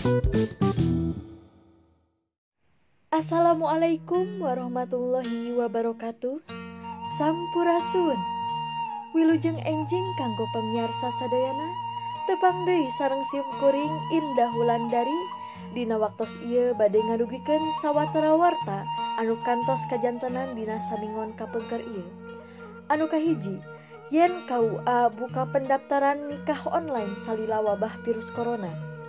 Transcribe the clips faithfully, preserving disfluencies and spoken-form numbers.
Assalamualaikum warahmatullahi wabarakatuh. Sampurasun. Wilujeng enjing kanggo pamiarsa sadayana, tepang deui sareng sim kuring Indah Wulandari dina waktos ieu bade ngadugikeun sawatara warta anu kantos kajantenan dina samingon kapengker ieu. Anu kahiji, yen K U A buka pendaftaran nikah online salila wabah virus corona.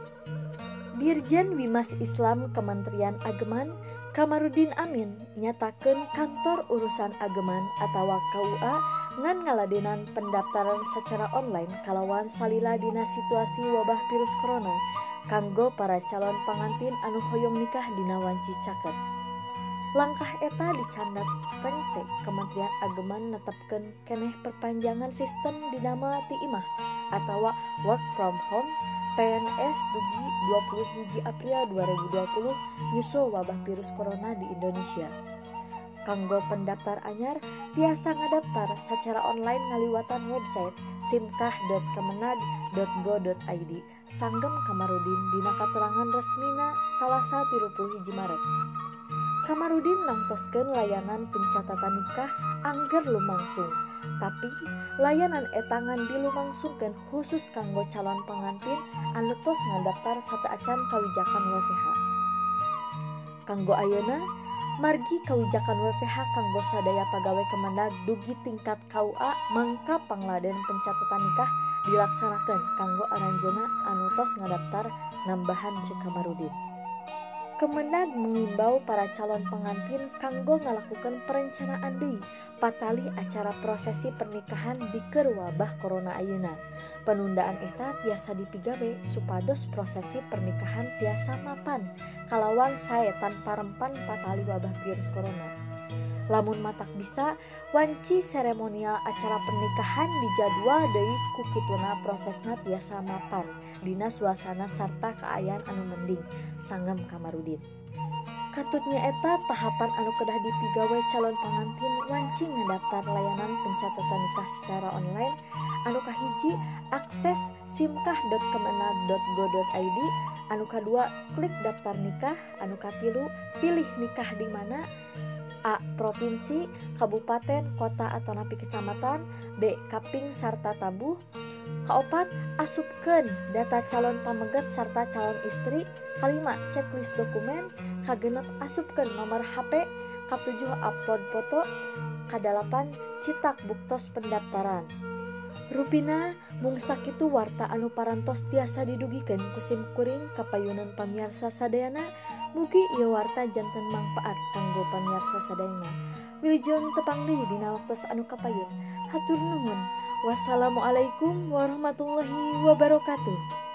Dirjen Bimas Islam Kementerian Ageman Kamarudin Amin nyatakeun kantor urusan ageman atawa K U A ngan ngaladenan pendaftaran secara online kalawan salila dina situasi wabah virus corona kanggo para calon pangantin anu hoyong nikah dina wanci caket. Langkah eta dicandat Pengse Kementerian Ageman netepkeun keneh perpanjangan sistem dinama ti imah atawa work from home P N S dugi dua puluh hiji April dua ribu dua puluh nyusul wabah virus corona di Indonesia. Kanggo pendaftar anyar tiasa ngadaftar secara online ngaliwatan website simkah dot kemenag dot go dot i d sanggem Kamarudin dina katerangan resmina Salasa tilu puluh hiji Maret. Kamarudin nangtoskeun layanan pencatatan nikah angger lumangsung, tapi layanan etangan dilumangsungkeun khusus kanggo calon pengantin anu tos ngadaftar sateuacan kawijakan W F H. Kanggo ayeuna, margi kawijakan W F H kanggo sadaya pagawe Kemenag dugi tingkat K U A mangka pangladen pencatatan nikah dilaksanakeun kanggo aranjeuna anu tos ngadaftar nambahan ceuk Kamarudin. Kemenag mengimbau para calon pengantin kanggo ngalakukan perencanaan deui patali acara prosesi pernikahan dikeun wabah corona ayeuna. Penundaan eta tiasa dipigawe supados prosesi pernikahan tiasa mapan kalawan sae tanpa rempan patali wabah virus corona. Lamun matak bisa, wanci seremonial acara pernikahan dijadwal deui ku kituna prosesna tiasa mapan dina suasana sarta kaayaan anu mending, sanggem Kamarudin. Katutnya eta tahapan anu kedah dipigawe calon pengantin wanci ngadaftar layanan pencatatan nikah secara online. Anu kahiji, akses simkah dot kemenag dot go dot i d. Anu kadua, klik daftar nikah. Anu katilu, pilih nikah di mana. A. Provinsi, kabupaten, kota atanapi kecamatan. B. Kaping sarta tabuh. Kaopat, asupkeun data calon pamegat sarta calon istri. Kalima, checklist dokumen. Kagenep, asupkeun nomor H P. Katujuh, upload foto. Kadalapan, citak buktos pendaftaran. Rupina mung sakitu warta anu parantos tiasa didugikeun ku sim kuring kapayunan pamiarsa sadayana. Mugi ieu warta janten mangpaat kanggo pamiarsa sadayana. Wilujeng tepang deui dina waktos anu kapayun. Hatur nuhun. Wassalamualaikum warahmatullahi wabarakatuh.